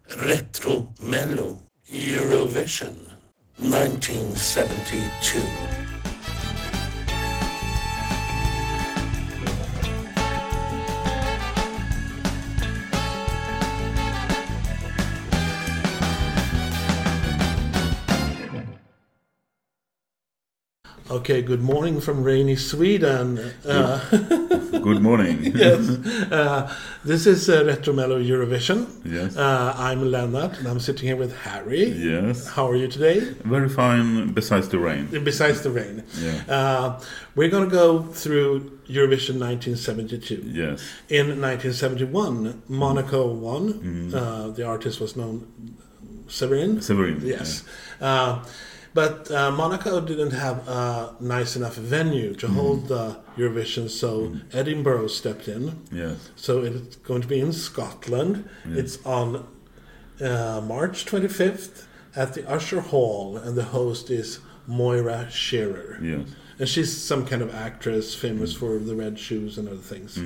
Retro Mello Eurovision 1972. Okay, good morning from rainy Sweden. Good morning. Yes, this is Retro Mello Eurovision. Yes. I'm Lennart, and I'm sitting here with Harry. Yes. How are you today? Very fine, besides the rain. Besides the rain. Yeah. We're going to go through Eurovision 1972. Yes. In 1971, Monaco won. The artist was known Severin. Severin. Yes. But Monaco didn't have a nice enough venue to hold the Eurovision, so Edinburgh stepped in. Yes. So it's going to be in Scotland. Yes. It's on March 25th at the Usher Hall, and the host is Moira Shearer. Yes. And she's some kind of actress famous for the red shoes and other things.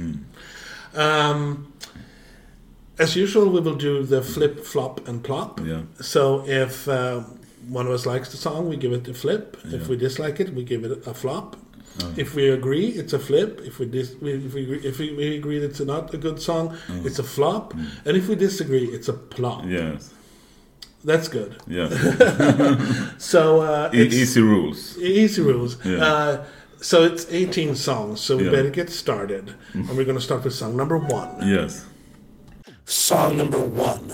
As usual, we will do the flip, flop, and plop. Yeah. So if one of us likes the song, we give it a flip. If we dislike it, we give it a flop. If we agree, it's a flip. If we agree that it's not a good song, it's a flop. And if we disagree, it's a plop. Yes. That's good. Yeah. So it's Easy rules. easy rules. Yeah. So it's 18 songs. So we Yeah. better get started. And we're going to start with song number 1. Yes. Song number 1.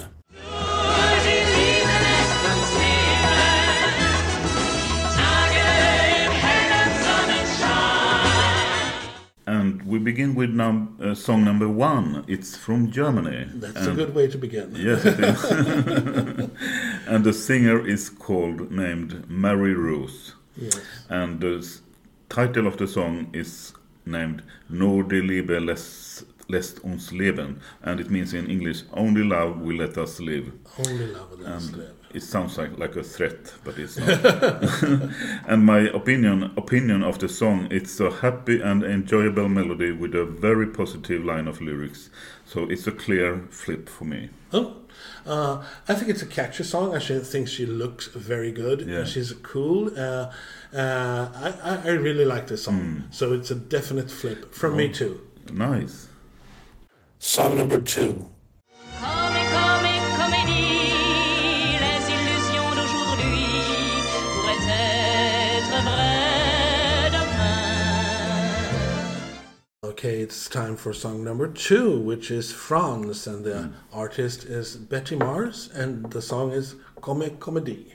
And we begin with song number 1. It's from Germany. That's a good way to begin. Yes, it is. And the singer is named Mary Rose. Yes. And the title of the song is named Nur die Liebe lässt uns leben. And it means in English, only love will let us live. Only love will let us live. It sounds like a threat, but it's not. And my opinion of the song, it's a happy and enjoyable melody with a very positive line of lyrics. So it's a clear flip for me. I think it's a catchy song. I think she looks very good. Yeah. She's cool. I really like this song. So it's a definite flip from me too. Nice. Song number 2. Comédie, les illusions d'aujourd'hui pourraient être vraies demain. Okay, it's time for song number 2, which is France, and the artist is Betty Mars, and the song is Comédie.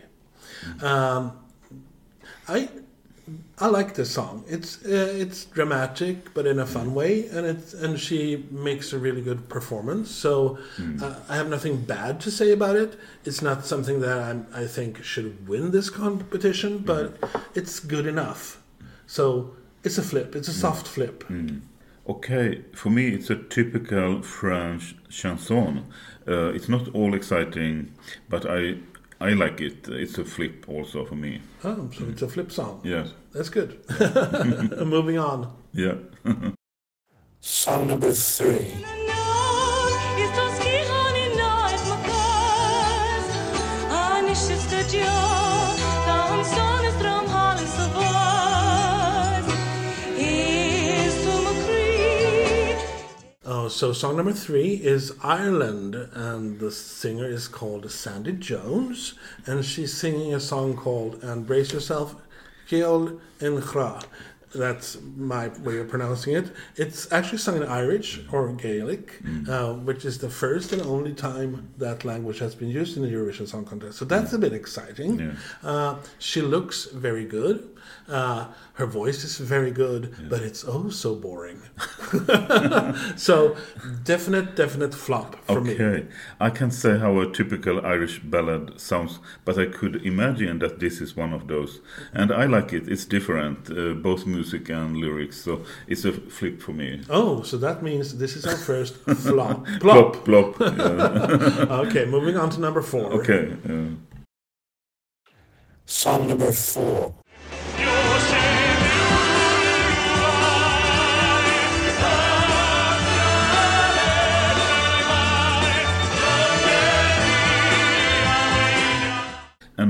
I like this song. It's dramatic, but in a fun way, and she makes a really good performance. So I have nothing bad to say about it. It's not something that I think should win this competition, but it's good enough. So it's a flip. It's a soft flip. Okay, for me it's a typical French chanson. It's not all exciting, but I like it. It's a flip also for me. Oh, so it's a flip song. Yes. That's good. Moving on. Yeah. Song number 3. So song number 3 is Ireland, and the singer is called Sandy Jones, and she's singing a song called And Brace Yourself, Ceol in Chra. That's my way of pronouncing it. It's actually sung in Irish or Gaelic, which is the first and only time that language has been used in the Eurovision Song Contest. So that's a bit exciting. Yeah. She looks very good. Her voice is very good, but it's oh so boring. So definite flop for me. Okay, I can't say how a typical Irish ballad sounds, but I could imagine that this is one of those. And I like it. It's different, both music and lyrics, so it's a flip for me. Oh, so that means this is our first flop. Plop, plop. Yeah. Okay, moving on to number 4. Okay. Song number 4.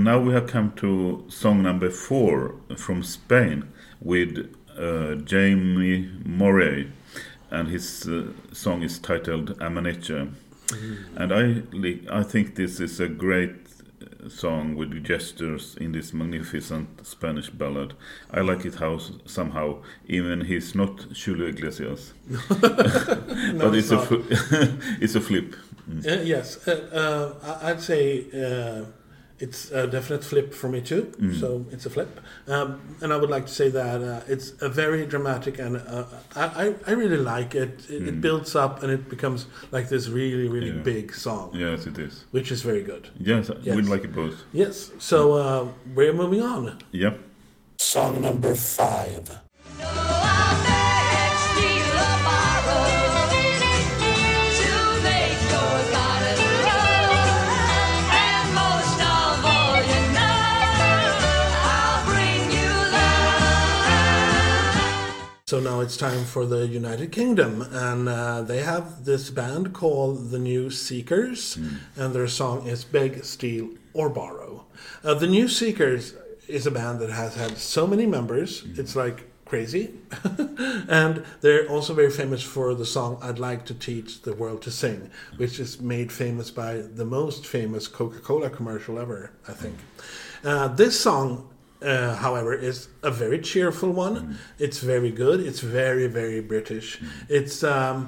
And now we have come to song number 4 from Spain with Jamie Morey, and his song is titled Amaneche. And I think this is a great song with gestures in this magnificent Spanish ballad. I like it how somehow even he's not Julio Iglesias, but it's it's a flip. Yes, I'd say it's a definite flip for me too. So it's a flip, and I would like to say that it's a very dramatic, and I really like it. It builds up and it becomes like this really big song. Yes, it is. Which is very good. Yes, we like it both. Yes. So we're moving on. Yep. Song number 5. So now it's time for the United Kingdom, and they have this band called the New Seekers, and their song is Beg, Steal or Borrow. The New Seekers is a band that has had so many members, it's like crazy. And they're also very famous for the song I'd Like to Teach the World to Sing, which is made famous by the most famous Coca-Cola commercial ever, I think. This song, however, is a very cheerful one. It's very good. It's very, very British. It's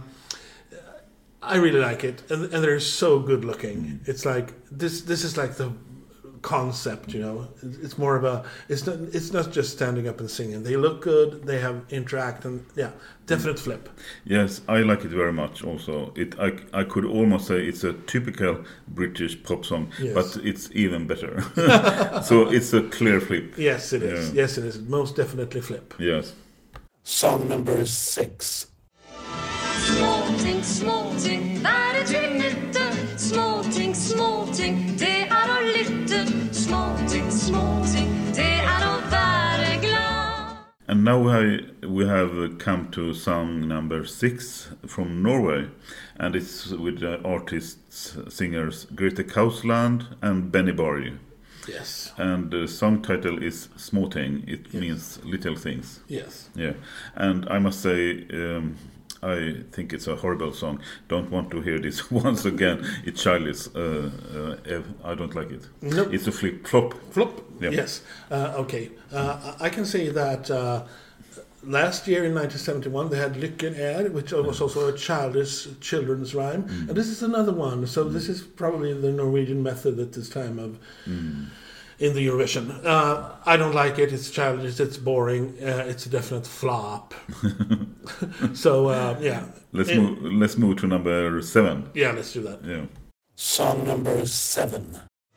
I really like it, and they're so good looking. It's like this is like the concept, you know. It's more of a. It's not just standing up and singing. They look good. They have interact, and definite flip. Yes, I like it very much. Also, I could almost say it's a typical British pop song, but it's even better. So it's a clear flip. Yes, it is. Yes, it is. Most definitely flip. Yes. Song number 6. Småting, hver et minutte. Småting, det å lytte. Småting, det å være glad. And now we have come to song number 6 from Norway, and it's with the artists, singers Grete Kausland and Benny Borg. Yes. And the song title is Småting. It means little things. Yes. Yeah. And I must say, I think it's a horrible song. Don't want to hear this once again. It's childish. I don't like it. Nope. It's a flop. Flop? Yeah. Yes. Okay. I can say that last year in 1971 they had Lykken Er, which was also a children's rhyme. And this is another one. So this is probably the Norwegian method at this time of in the Eurovision. I don't like it. It's childish. It's boring. It's a definite flop. So Let's move to number 7. Yeah, let's do that. Yeah. Song number 7.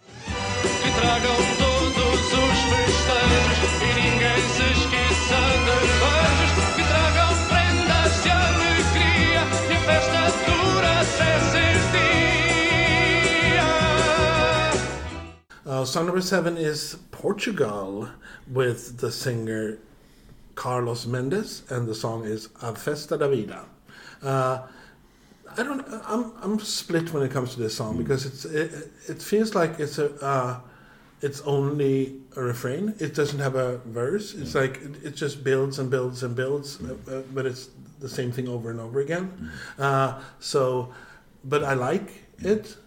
Song number 7 is Portugal with the singer Carlos Mendes, and the song is A Festa da Vida. I'm split when it comes to this song because it feels like it's only a refrain. It doesn't have a verse. It's like it just builds and builds and builds, but it's the same thing over and over again. But I like it.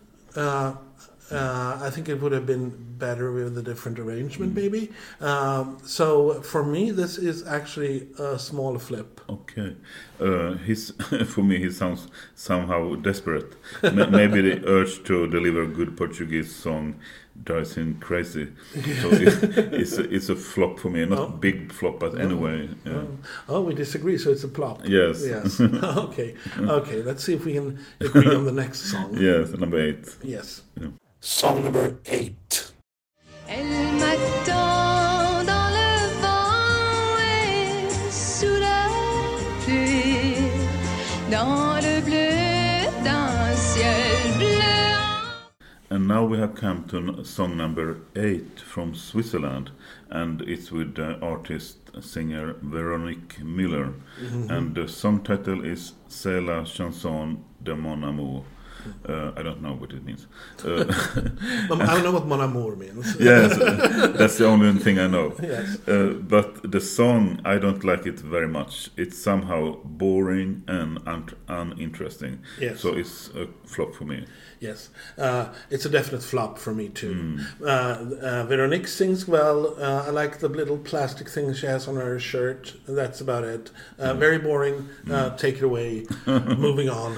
I think it would have been better with a different arrangement, maybe. So for me, this is actually a small flip. Okay. For me, he sounds somehow desperate. Maybe the urge to deliver a good Portuguese song drives him crazy. So it's a flop for me. Not big flop, but anyway. Yeah. Oh, we disagree, so it's a plop. Yes. Yes. Okay. Let's see if we can agree on the next song. Yes, number 8. Yes. Yeah. Song number 8. Elle m'attend dans le vent et sous la pluie, dans le bleu d'un ciel bleu. And now we have come to song number 8 from Switzerland, and it's with the artist singer Véronique Müller, and the song title is C'est la chanson de mon amour. I don't know what it means. I don't know what Mon Amour means. Yes, that's the only thing I know. Yes. But the song, I don't like it very much. It's somehow boring and uninteresting. Yes. So it's a flop for me. Yes, it's a definite flop for me too. Veronique sings well. I like the little plastic thing she has on her shirt. That's about it. Very boring. Take it away. Moving on.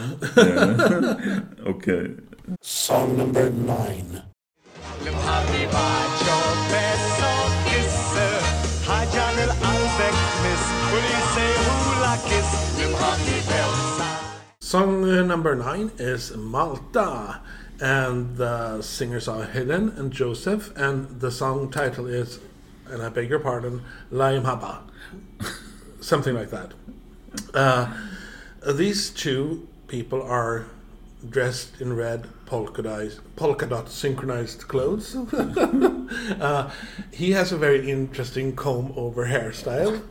Okay. Song number 9. Song number 9 is Malta, and the singers are Helen and Joseph, and the song title is, and I beg your pardon, Laim Haba. Something like that. These two people are dressed in red polka dot synchronized clothes. He has a very interesting comb over hairstyle.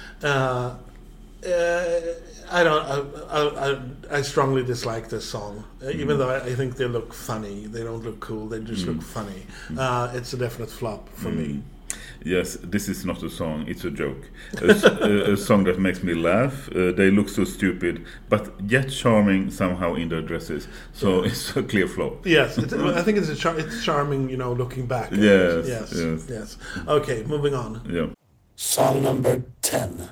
I strongly dislike this song, even though I think they look funny. They don't look cool. They just look funny. It's a definite flop for me. Yes, this is not a song, it's a joke. A song that makes me laugh. They look so stupid, but yet charming somehow in their dresses. So it's a clear flop. Yes, I think it's charming, looking back. Yes. Okay, moving on. Yeah. Song number 10.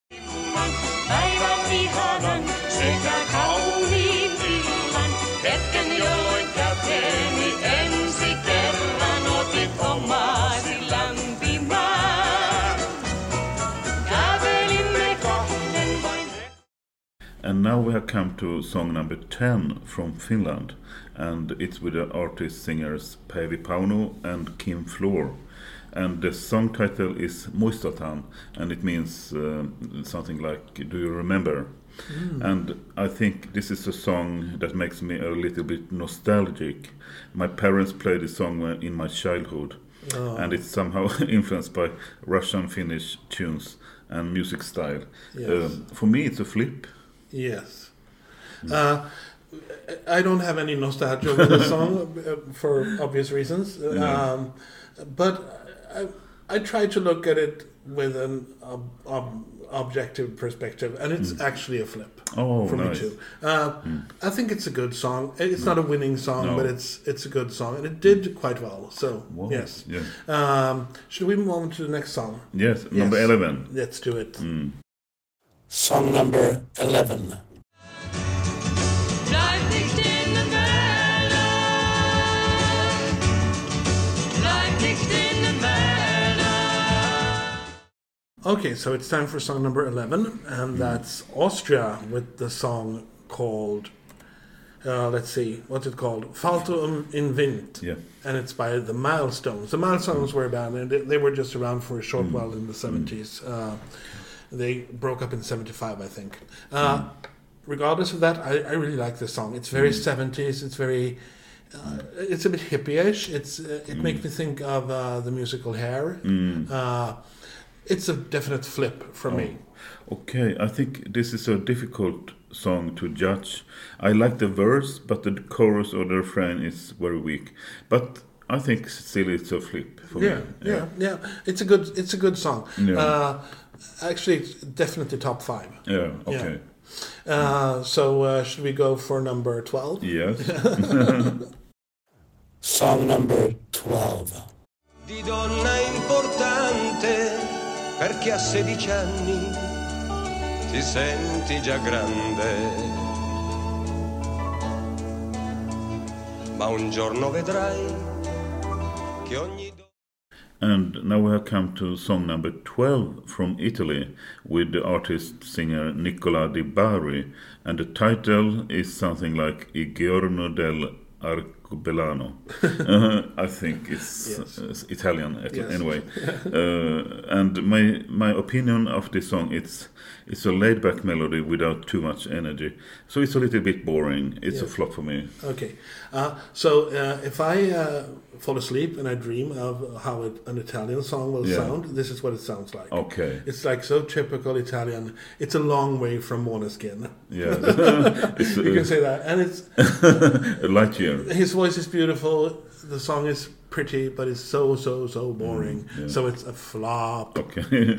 And now we have come to song number 10 from Finland, and it's with the artist singers Päivi Pauno and Kim Floor. And the song title is Muistatan, and it means something like, do you remember? And I think this is a song that makes me a little bit nostalgic. My parents played this song in my childhood, and it's somehow influenced by Russian Finnish tunes and music style. Yes. For me, it's a flip. Yes. I don't have any nostalgia with the song for obvious reasons. But I try to look at it with an objective perspective, and it's actually a flip for me too. I think it's a good song. It's not a winning song, but it's a good song, and it did quite well. So yes. Should we move on to the next song? Yes, number 11. Let's do it. Song number 11. Okay, so it's time for song number 11, and that's Austria with the song called, let's see, what's it called? Falto in Wind. Yeah. And it's by the Milestones. The Milestones were a band, and they were just around for a short while in the 70s. They broke up in 75, I think. Regardless of that, I really like this song. It's very 70s. It's very... it's a bit hippie-ish. It makes me think of the musical Hair. It's a definite flip for me. Okay, I think this is a difficult song to judge. I like the verse, but the chorus or the refrain is very weak. But I think still it's a flip for me. Yeah. It's a good song. Yeah. Actually, it's definitely top 5. Yeah, okay. So should we go for number 12? Yes. Song number 12. Di donna importante perché a 16 anni ti senti già grande, ma un giorno vedrai che ogni And now we have come to song number 12 from Italy with the artist-singer Nicola Di Bari, and the title is something like I giorno del Arcobolano. I think it's Italian anyway. And my opinion of this song, it's a laid-back melody without too much energy. So it's a little bit boring. It's a flop for me. Okay. So if I fall asleep and I dream of how an Italian song will sound, this is what it sounds like. Okay. It's like so typical Italian. It's a long way from Måneskin. Yeah. It's, You can say that. And it's a light year. his voice is beautiful. The song is pretty, but it's so boring. So it's a flop. Okay.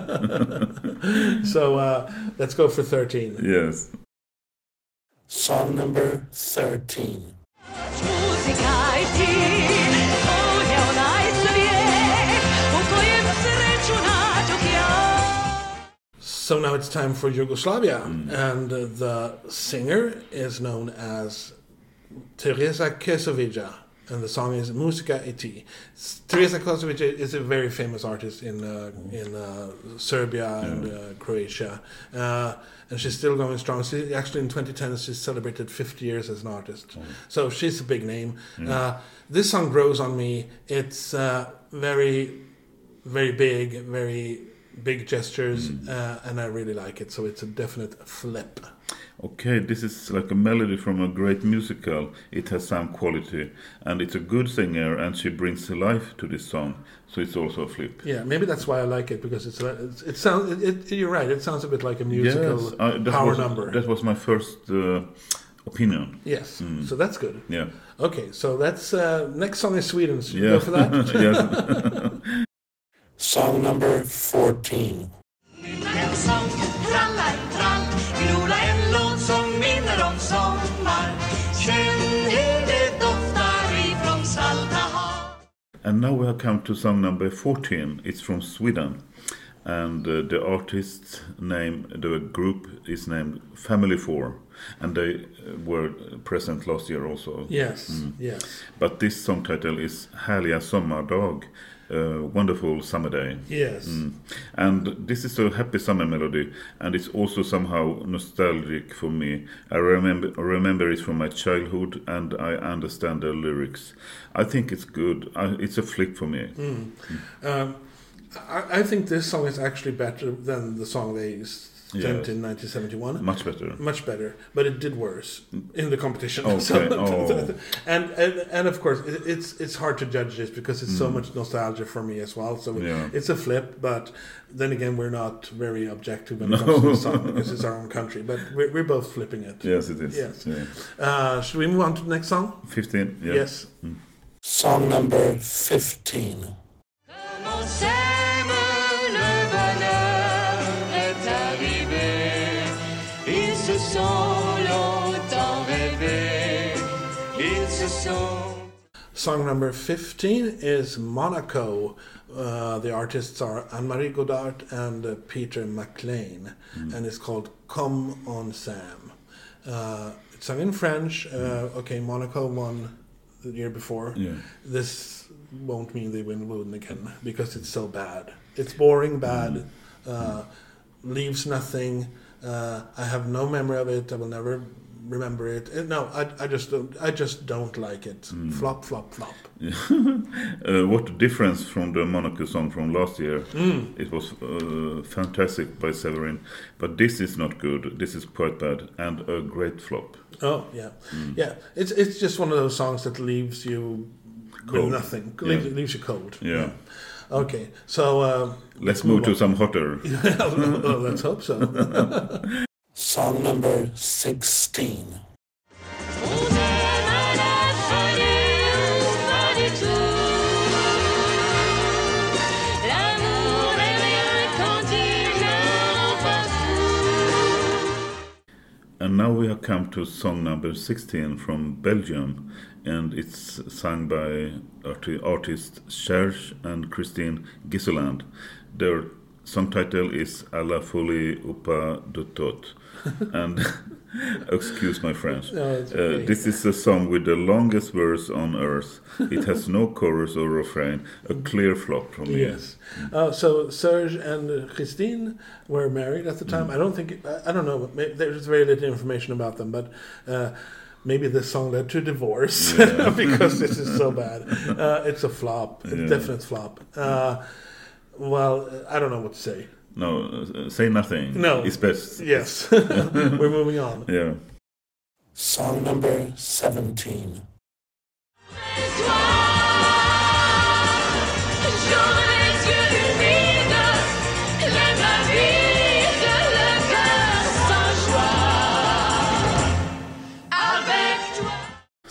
So let's go for 13. Yes. Song number 13. Musica e ti, ognuno ha il suo So now it's time for Yugoslavia, and the singer is known as Teresa Kesovica, and the song is Musica e ti. Teresa Kesovica is a very famous artist in Serbia and Croatia, and she's still going strong. She actually in 2010 she celebrated 50 years as an artist, so she's a big name. This song grows on me. It's very, very big gestures, and I really like it. So it's a definite flip. Okay, this is like a melody from a great musical. It has some quality, and it's a good singer, and she brings life to this song. So it's also a flip. Yeah, maybe that's why I like it, because it sounds. You're right. It sounds a bit like a musical power number. That was my first opinion. Yes, so that's good. Yeah. Okay, so that's next song is Sweden. Should we go for that? Yes. Song number 14. En sång, trallar, trall, glola en låt som minner om sommar. Känn hur det doftar ifrån salta hav. And now we have come to song number 14. It's from Sweden. And the artist's name, the group is named Family 4. And they were present last year also. Yes, yes. But this song title is Härliga sommardag. Wonderful summer day. Yes. And this is a happy summer melody, and it's also somehow nostalgic for me. I remember it from my childhood, and I understand the lyrics. I think it's good. It's a flick for me. I think this song is actually better than the song they sent in 1971. Much better. Much better, but it did worse in the competition. Okay. And of course, it's hard to judge this because it's so much nostalgia for me as well. So it's a flip, but then again, we're not very objective when it comes to the song because it's our own country. But we're both flipping it. Yes, it is. Yes. Yeah. Should we move on to the next song? 15. Yeah. Yes. Song number 15. Song number 15 is Monaco. The artists are Anne-Marie Godard and Peter McLean, and it's called Come on Sam. It's sung in French. Okay, Monaco won the year before. Yeah. This won't mean they win again because it's so bad. It's boring, bad, leaves nothing. I have no memory of it. I will never remember it. No, I just don't like it. Flop, flop, flop. What difference from the Monaco song from last year. It was fantastic by Severin, but this is not good. This is quite bad and a great flop. Oh yeah, yeah. It's just one of those songs that leaves you Cold. with nothing. Yeah. Leaves you cold. Yeah. Okay, so Let's move to some hotter. Well, let's hope so. Song number 16. And now we have come to song number 16 from Belgium, and it's sung by artists Serge and Christine Gisseland. Their song title is À la folie ou pas de tout. And excuse my French. No, it's okay. This is a song with the longest verse on earth. It has no chorus or refrain. A clear flop from me. Yes. So Serge and Christine were married at the time. I don't know. There's very little information about them, but maybe this song led to divorce because this is so bad. It's a flop. A definite flop. Well, I don't know what to say. No, say nothing. No. It's best. Yes. We're moving on. Yeah. Song number 17. Toi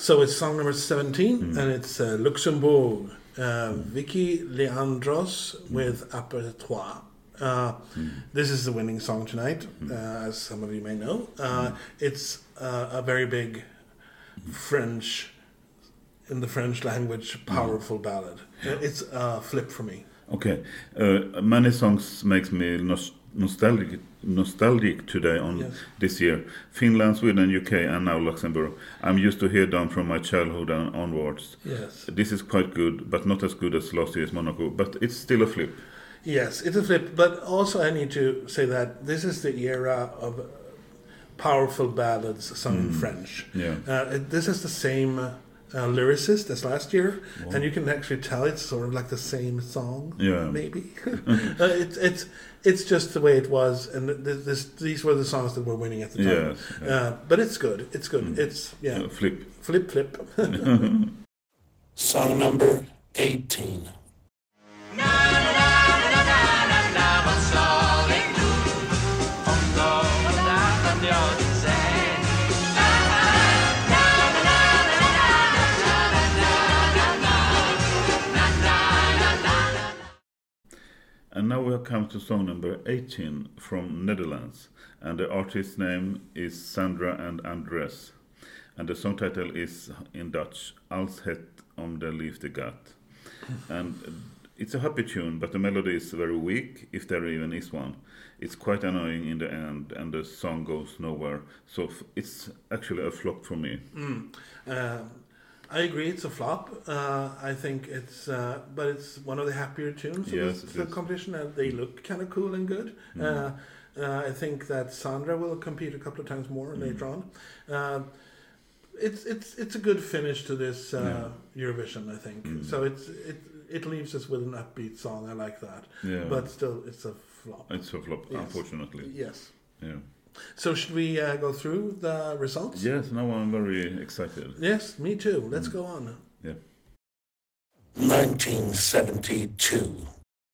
So it's song number 17, and it's Luxembourg. Vicky Leandros with Apertoire. This is the winning song tonight, as some of you may know. It's a very big French, in the French language, powerful ballad. It's a flip for me. Okay. Many songs makes me nostalgic today on this year. Finland, Sweden, UK, and now Luxembourg. I'm used to hear them from my childhood and onwards. Yes. This is quite good, but not as good as last year's Monaco. But it's still a flip. Yes, it's a flip. But also I need to say that this is the era of powerful ballads sung in French. Yeah. This is the same lyricist as last year, and you can actually tell it's sort of like the same song. Yeah. Maybe. It's just the way it was, and these were the songs that were winning at the time. Yes. But it's good. It's good. It's Flip. flip. Song number 18. Vad salig du om någon jag vill säga. And now we have come to song number 18 from Netherlands. And the artist's name is Sandra and Andres. And the song title is in Dutch, Als het om de liefde gaat. And it's a happy tune, but the melody is very weak, if there even is one. It's quite annoying in the end, and the song goes nowhere. So it's actually a flop for me. I agree, it's a flop. I think it's, but it's one of the happier tunes of the competition, and they look kind of cool and good. I think that Sandra will compete a couple of times more later on. It's a good finish to this Eurovision, I think. So it leaves us with an upbeat song. I like that. Yeah. But still, it's a flop. It's a flop, unfortunately. Yes. Yeah. So should we go through the results? Yes, now I'm very excited. Yes, me too. Let's go on. Yeah. 1972.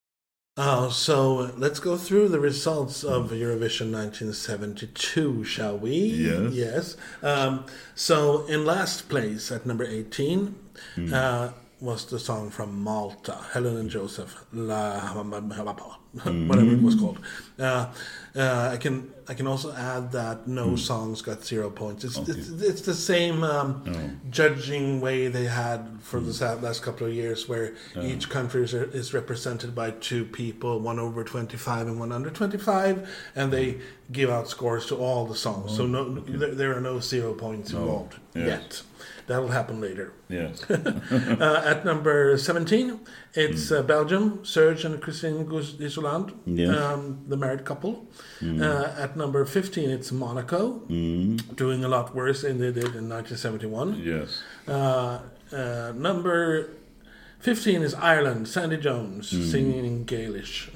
So let's go through the results of Eurovision 1972, shall we? Yes. Yes. So in last place at number 18 was the song from Malta, Helen and Joseph, whatever it was called. I can also add that no songs got 0 points. It's the same judging way they had for the last couple of years, where each country is represented by two people, one over 25 and one under 25, and they give out scores to all the songs. So there are no 0 points involved yet. That'll happen later. Yes. At number 17, it's Belgium, Serge and Christine Gusdissoland, the married couple. At number 15, it's Monaco, doing a lot worse than they did in 1971. Yes. Number 15 is Ireland, Sandy Jones, singing in Gaelish.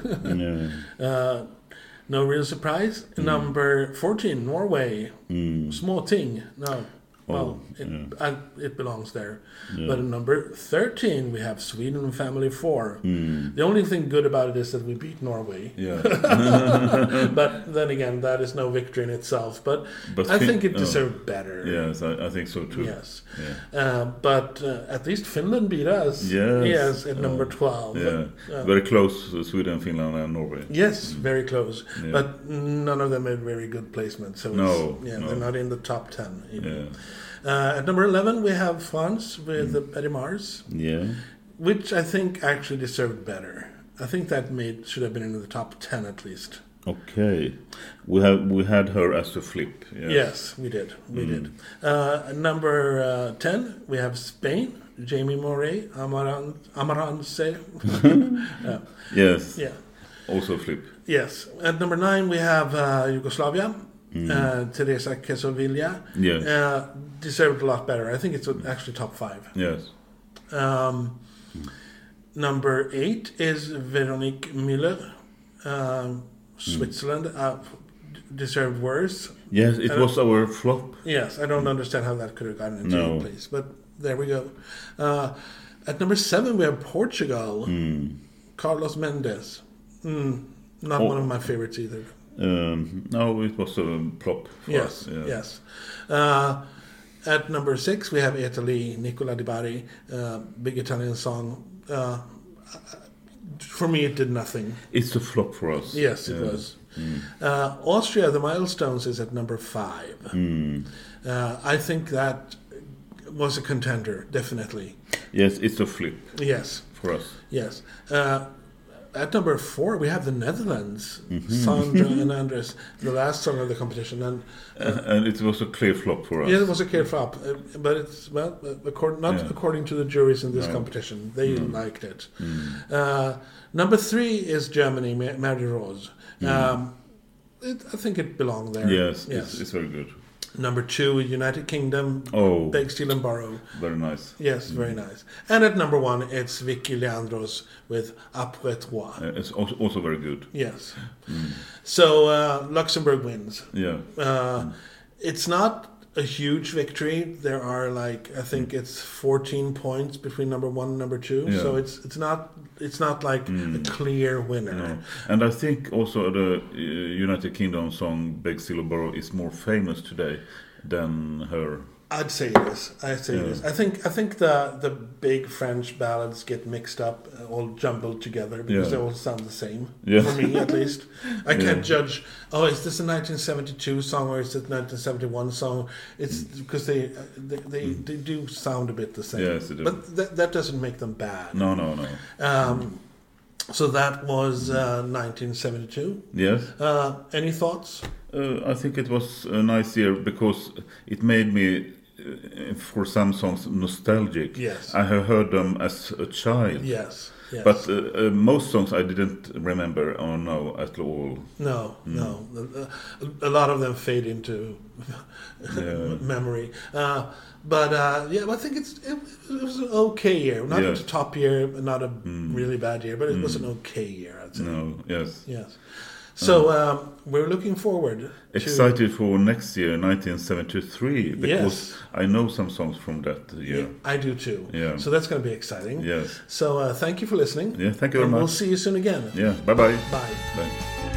No real surprise. Number 14, Norway, Small Ting. No. Well, it belongs there. Yeah. But at number 13, we have Sweden Family 4. The only thing good about it is that we beat Norway. Yeah. But then again, that is no victory in itself. But I think it deserved better. Yes, I think so too. Yes. Yeah. But at least Finland beat us. Yes, at number 12. Yeah. Very close, Sweden, Finland, and Norway. Yes, very close. Yeah. But none of them made very good placements. So they're not in the top 10 even. Yeah. At number 11, we have France with Betty Mars. Yeah. Which I think actually deserved better. I think that should have been in the top 10 at least. Okay. We had her as a flip. Yes, we did. We did. Number 10, we have Spain. Jamie Moret, Amarantse. Yes. Yeah. Also flip. Yes. At number 9, we have Yugoslavia. Teresa Quesovilla deserved a lot better. I think it's actually top 5. Yes. Number 8 is Veronique Müller, Switzerland. Deserved worse. Yes, it was our flop. Yes, I don't understand how that could have gotten into a place, but there we go. At number 7, we have Portugal. Carlos Mendes. Not one of my favorites either. No, it was a plop. Yes. At number 6, we have Italy, Nicola Di Bari, big Italian song. For me, it did nothing. It's a flop for us. Yes, it was. Austria, The Milestones, is at number 5. I think that was a contender, definitely. Yes, it's a flip Yes, for us. yes. At number 4, we have the Netherlands, Sandra and Andres, the last song of the competition. And it was a clear flop for us. Yeah, it was a clear flop, but it's according to the juries in this competition. They liked it. Number 3 is Germany, Mary Rose. I think it belonged there. Yes. It's very good. Number 2, United Kingdom, Oh, Beg, Steal and Borrow. very nice. Yes, very nice. And at number 1, it's Vicky Leandros with Après Toi. It's also very good. Yes. So Luxembourg wins. Yeah. It's not a huge victory. There are I think it's 14 points between number 1 and number 2. Yeah. So it's not like a clear winner. No. And I think also the United Kingdom song Beg, Steal and Borrow is more famous today than her. I'd say it is. I think the big French ballads get mixed up, all jumbled together because they all sound the same. Yeah. For me, at least, I can't judge. Oh, is this a 1972 song or is it a 1971 song? It's because they do sound a bit the same. Yes, they do. But that doesn't make them bad. No. So that was 1972. Yes. Any thoughts? I think it was a nice year because it made me, for some songs, nostalgic. Yes. I have heard them as a child. Yes. But most songs I didn't remember or know at all. No. A lot of them fade into memory. But I think it was an okay year. Not a top year, not a really bad year, but it was an okay year, I'd say. No, yes. Yes. So we're looking forward. Excited for next year, 1973, because I know some songs from that year. Yeah, I do too. Yeah. So that's going to be exciting. Yes. So thank you for listening. Yeah, thank you very much. We'll see you soon again. Yeah, bye-bye. Bye. Bye.